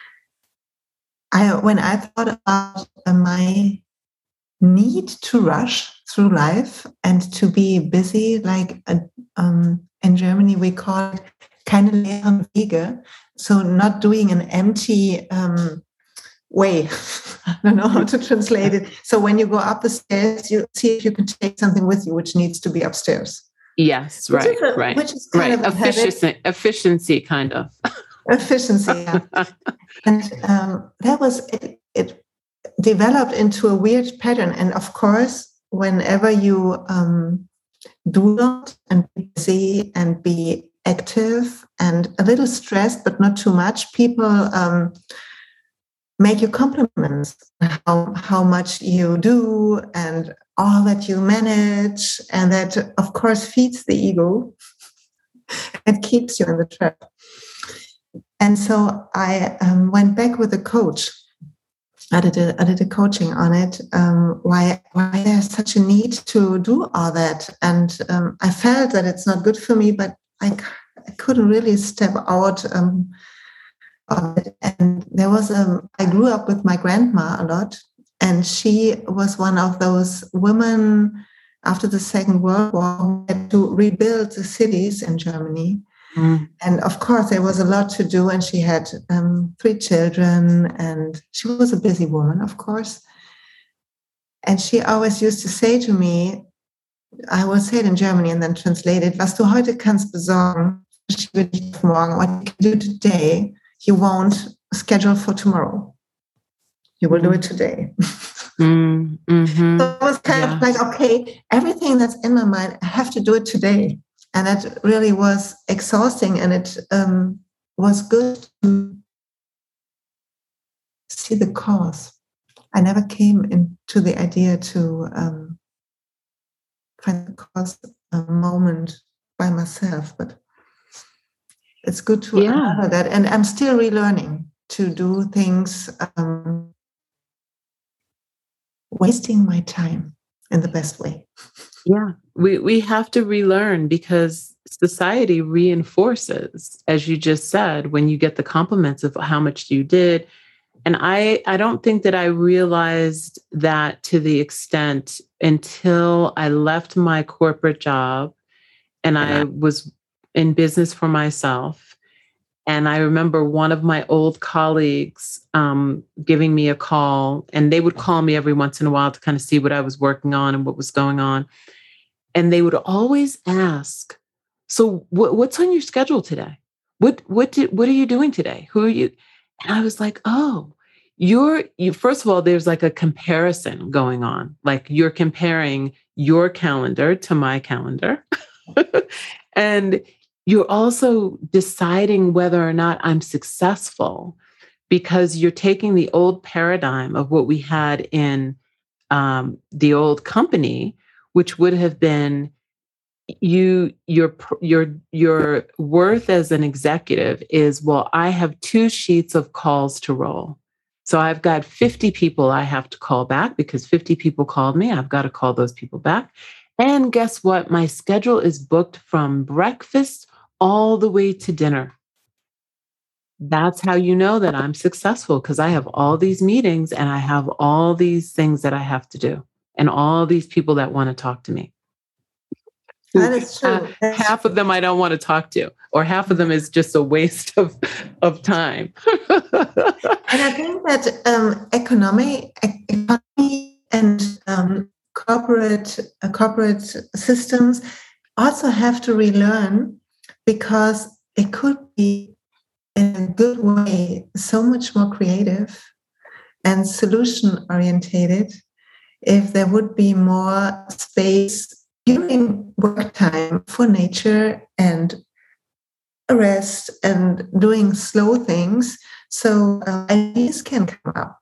I when I thought about uh, my need to rush through life and to be busy, like uh, um, in Germany we call it keine leeren Wege, so not doing an empty um, way. I don't know how to translate it. So when you go up the stairs, you see if you can take something with you, which needs to be upstairs. Yes, right, which a, right, which is kind right. of Efficiency, efficiency, kind of. Efficiency, yeah. And um, that was it, it. Developed into a weird pattern. And of course, whenever you um, do not and be busy and be active and a little stressed, but not too much, people. Um, make you compliments how how much you do and all that you manage, and that of course feeds the ego and keeps you in the trap. And so I um, went back with a coach. I did a, I did a coaching on it. Um, why why there's such a need to do all that, and um, I felt that it's not good for me, but I, I couldn't really step out. Um, And there was a, I grew up with my grandma a lot, and she was one of those women after the Second World War who had to rebuild the cities in Germany. Mm. And of course, there was a lot to do, and she had um, three children, and she was a busy woman, of course. And she always used to say to me, I will say it in Germany and then translate it, was du heute kannst besorgen, verschiebe dich auf morgen. What you can do today, you won't schedule for tomorrow. You will mm. do it today. mm, mm-hmm. So it was kind yeah. of like, okay, everything that's in my mind, I have to do it today. And that really was exhausting. And it um, was good to see the cause. I never came into the idea to um, find the cause a moment by myself, but it's good to Yeah. remember that. And I'm still relearning to do things, um, that, and I'm still relearning to do things, um, wasting my time in the best way. Yeah, we, we have to relearn because society reinforces, as you just said, when you get the compliments of how much you did. And I, I don't think that I realized that to the extent until I left my corporate job and I was in business for myself. And I remember one of my old colleagues um, giving me a call, and they would call me every once in a while to kind of see what I was working on and what was going on. And they would always ask, so what, what's on your schedule today? What, what did, what are you doing today? Who are you? And I was like, oh, you're, you, first of all, there's like a comparison going on. Like you're comparing your calendar to my calendar. And you're also deciding whether or not I'm successful because you're taking the old paradigm of what we had in um, the old company, which would have been you, your, your, your worth as an executive is, well, I have two sheets of calls to roll. So I've got fifty people I have to call back because fifty people called me. I've got to call those people back. And guess what? My schedule is booked from breakfast all the way to dinner. That's how you know that I'm successful because I have all these meetings and I have all these things that I have to do and all these people that want to talk to me. That is true. Uh, That's half true. of them I don't want to talk to, or half of them is just a waste of, of time. And I think that um, economy, economy and um, corporate uh, corporate systems also have to relearn, because it could be in a good way so much more creative and solution orientated if there would be more space during work time for nature and rest and doing slow things, so uh, ideas can come up.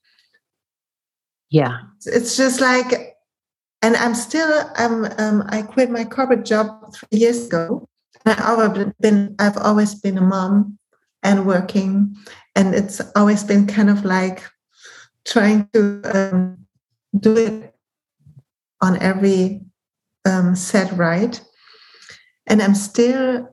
Yeah. It's just like, and I'm still, um, um, I quit my corporate job three years ago. And I've always been, I've always been a mom and working, and it's always been kind of like trying to um, do it on every um, set right. And I'm still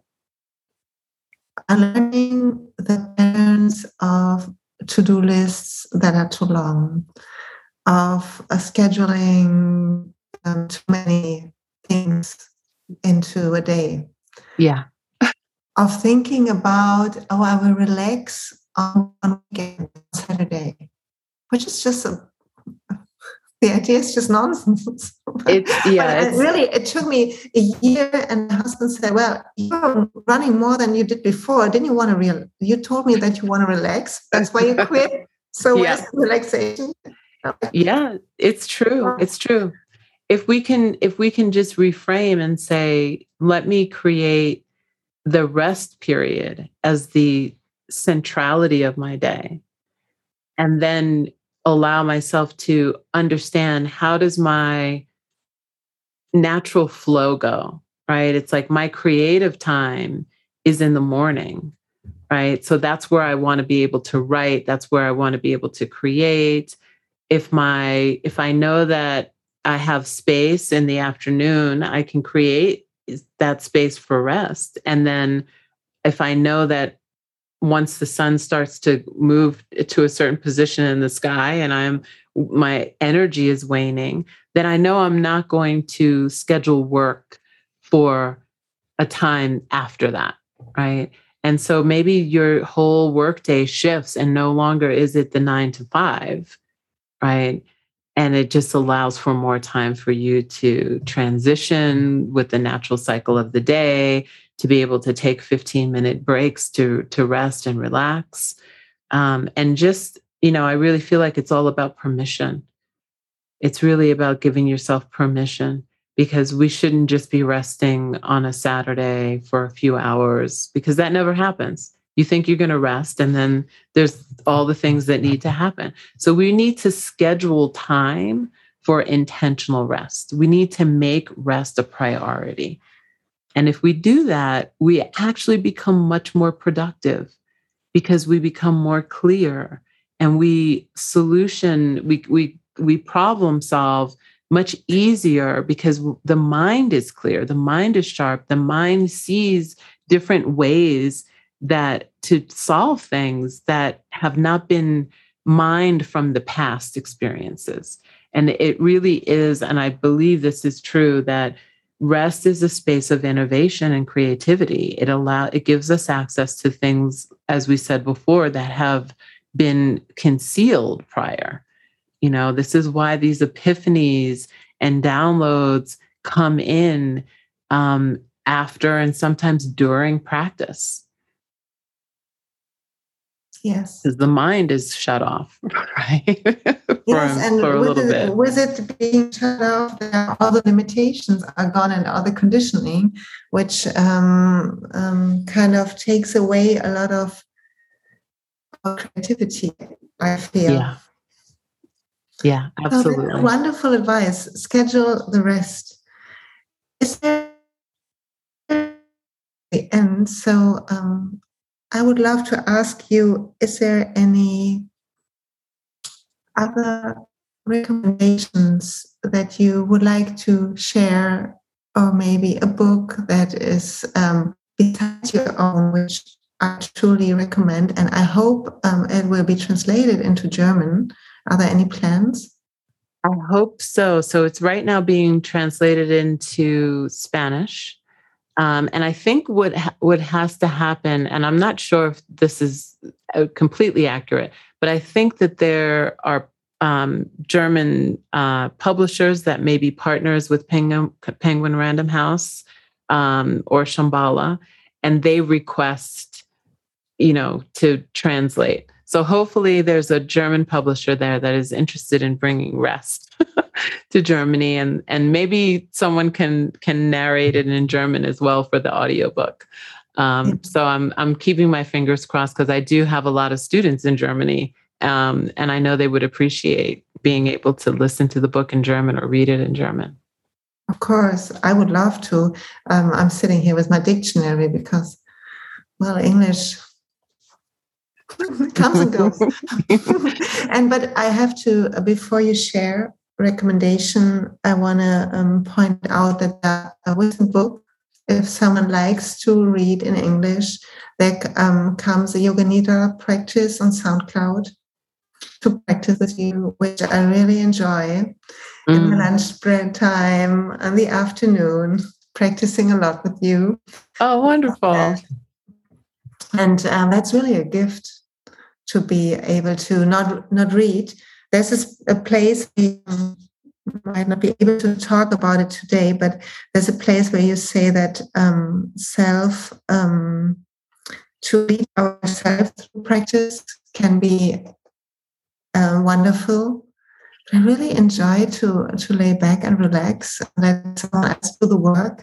learning the patterns of to-do lists that are too long, of uh, scheduling um, too many things into a day. Yeah. Of thinking about, oh, I will relax on one weekend, Saturday, which is just a, the idea is just nonsense. It's, yeah, but it's, it really, it took me a year, and my husband said, well, you're running more than you did before. Didn't you want to real? You told me that you want to relax. That's why you quit. So yeah. where's the relaxation? Yeah, it's true. It's true. If we can, if we can just reframe and say, let me create the rest period as the centrality of my day, and then allow myself to understand, how does my natural flow go, right? It's like my creative time is in the morning, right? So that's where I want to be able to write. That's where I want to be able to create. If my, if I know that I have space in the afternoon, I can create that space for rest. And then if I know that once the sun starts to move to a certain position in the sky and I'm, my energy is waning, then I know I'm not going to schedule work for a time after that, right? And so maybe your whole workday shifts, and no longer is it the nine to five, right? And it just allows for more time for you to transition with the natural cycle of the day, to be able to take fifteen minute breaks to, to rest and relax. Um, and just, you know, I really feel like it's all about permission. It's really about giving yourself permission, because we shouldn't just be resting on a Saturday for a few hours, because that never happens. You think you're going to rest, and then there's all the things that need to happen. So we need to schedule time for intentional rest. We need to make rest a priority. And if we do that, we actually become much more productive because we become more clear and we solution, we, we, we problem solve much easier because the mind is clear, the mind is sharp, the mind sees different ways that to solve things that have not been mined from the past experiences. And it really is, and I believe this is true, that rest is a space of innovation and creativity. It allow it gives us access to things, as we said before, that have been concealed prior. You know, this is why these epiphanies and downloads come in um, after and sometimes during practice. Yes. Because the mind is shut off, right? for, yes, and for a with, little it, bit. with it being shut off, all the limitations are gone and all the conditioning, which um, um, kind of takes away a lot of creativity, I feel. Yeah. Yeah, absolutely. So wonderful advice. Schedule the rest. Is there the end? So um, I would love to ask you, is there any other recommendations that you would like to share, or maybe a book that is um, besides your own, which I truly recommend, and I hope um, it will be translated into German. Are there any plans? I hope so. So it's right now being translated into Spanish. Um, and I think what ha- what has to happen, and I'm not sure if this is uh, completely accurate, but I think that there are um, German uh, publishers that may be partners with Penguin, Penguin Random House um, or Shambhala, and they request, you know, to translate. So hopefully there's a German publisher there that is interested in bringing rest to Germany, and and maybe someone can can narrate it in German as well for the audiobook. Um, mm-hmm. So I'm I'm keeping my fingers crossed because I do have a lot of students in Germany, um, and I know they would appreciate being able to listen to the book in German or read it in German. Of course, I would love to. Um, I'm sitting here with my dictionary because, well, English comes and goes. and but I have to, before you share recommendation, I want to um, point out that uh, with a book, if someone likes to read in English, there um, comes a Yoga Nidra practice on SoundCloud to practice with you, which I really enjoy mm. in the lunch break time in the afternoon, practicing a lot with you. Oh, wonderful. And um, that's really a gift to be able to not not read. There's a place we might not be able to talk about it today, but there's a place where you say that um, self um, to read ourselves through practice can be uh, wonderful. I really enjoy to to lay back and relax and let someone else do the work.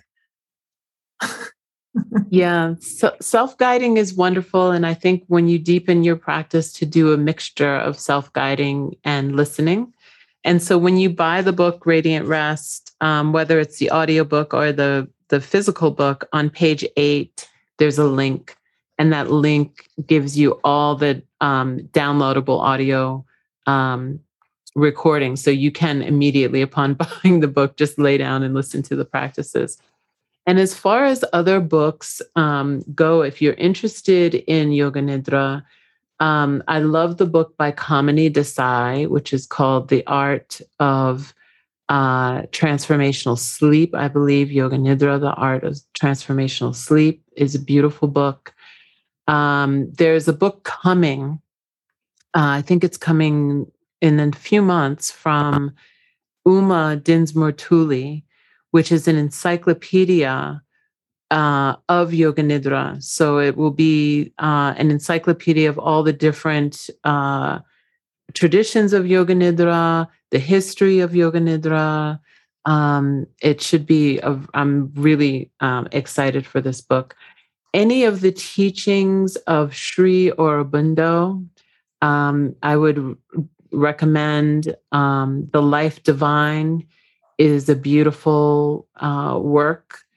Yeah, so self-guiding is wonderful. And I think when you deepen your practice to do a mixture of self-guiding and listening. And so when you buy the book, Radiant Rest, um, whether it's the audiobook or the, the physical book, on page eight, there's a link. And that link gives you all the um, downloadable audio um, recordings. So you can immediately, upon buying the book, just lay down and listen to the practices. And as far as other books um, go, if you're interested in Yoga Nidra, um, I love the book by Kamini Desai, which is called The Art of uh, Transformational Sleep. I believe Yoga Nidra, The Art of Transformational Sleep, is a beautiful book. Um, there's a book coming, uh, I think it's coming in a few months, from Uma Dinsmore Tuli, which is an encyclopedia uh, of Yoga Nidra. So it will be uh, an encyclopedia of all the different uh, traditions of Yoga Nidra, the history of Yoga Nidra. Um, it should be, a, I'm really um, excited for this book. Any of the teachings of Sri Aurobindo, um, I would recommend. um, The Life Divine is a beautiful uh, work.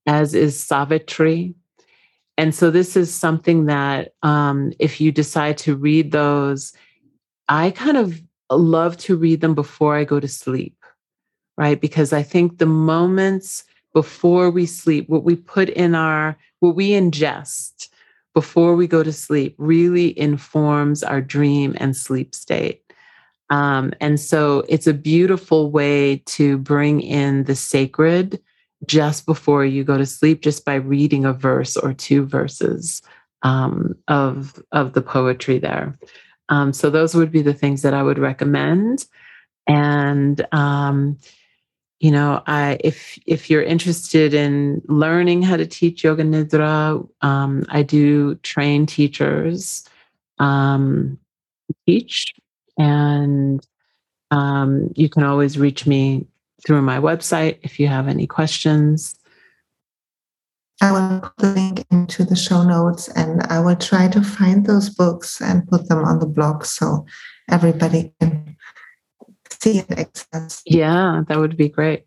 as is Savitri. And so this is something that um, if you decide to read those, I kind of love to read them before I go to sleep, right? Because I think the moments before we sleep, what we put in our, what we ingest before we go to sleep really informs our dream and sleep state. Um, and so it's a beautiful way to bring in the sacred just before you go to sleep, just by reading a verse or two verses um, of, of the poetry there. Um, so those would be the things that I would recommend. And, um, you know, I, if, if you're interested in learning how to teach Yoga Nidra, um, I do train teachers, um, teach, and um, you can always reach me through my website if you have any questions. I will put the link into the show notes, and I will try to find those books and put them on the blog so everybody can see and access. Yeah, that would be great.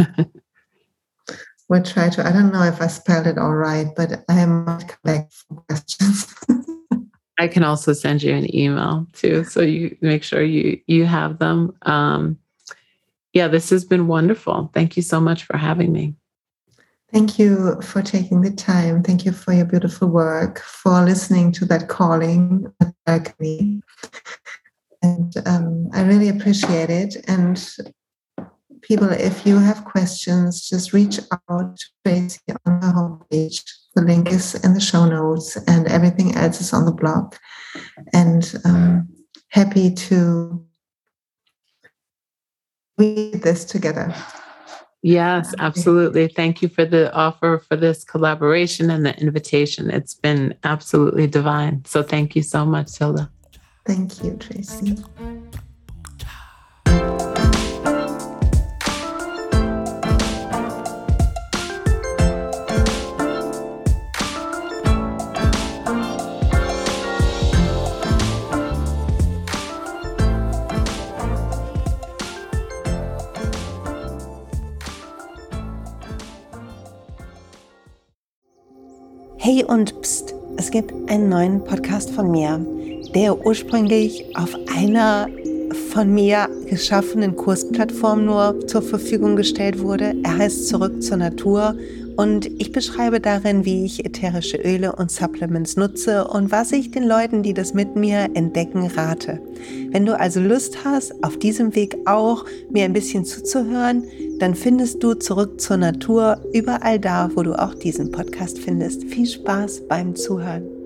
We'll try to. I don't know if I spelled it all right, but I might come back for questions. I can also send you an email too, so you make sure you you have them. Um, yeah, this has been wonderful. Thank you so much for having me. Thank you for taking the time. Thank you for your beautiful work, for listening to that calling at me. And um, I really appreciate it. And people, if you have questions, just reach out to Tracy on her homepage. The link is in the show notes, and everything else is on the blog. And um, happy to read this together. Yes, absolutely. Thank you for the offer for this collaboration and the invitation. It's been absolutely divine. So thank you so much, Hilda. Thank you, Tracy. Hey und pst, es gibt einen neuen Podcast von mir, der ursprünglich auf einer von mir geschaffenen Kursplattform nur zur Verfügung gestellt wurde. Er heißt Zurück zur Natur und ich beschreibe darin, wie ich ätherische Öle und Supplements nutze und was ich den Leuten, die das mit mir entdecken, rate. Wenn du also Lust hast, auf diesem Weg auch mir ein bisschen zuzuhören, dann findest du Zurück zur Natur überall da, wo du auch diesen Podcast findest. Viel Spaß beim Zuhören.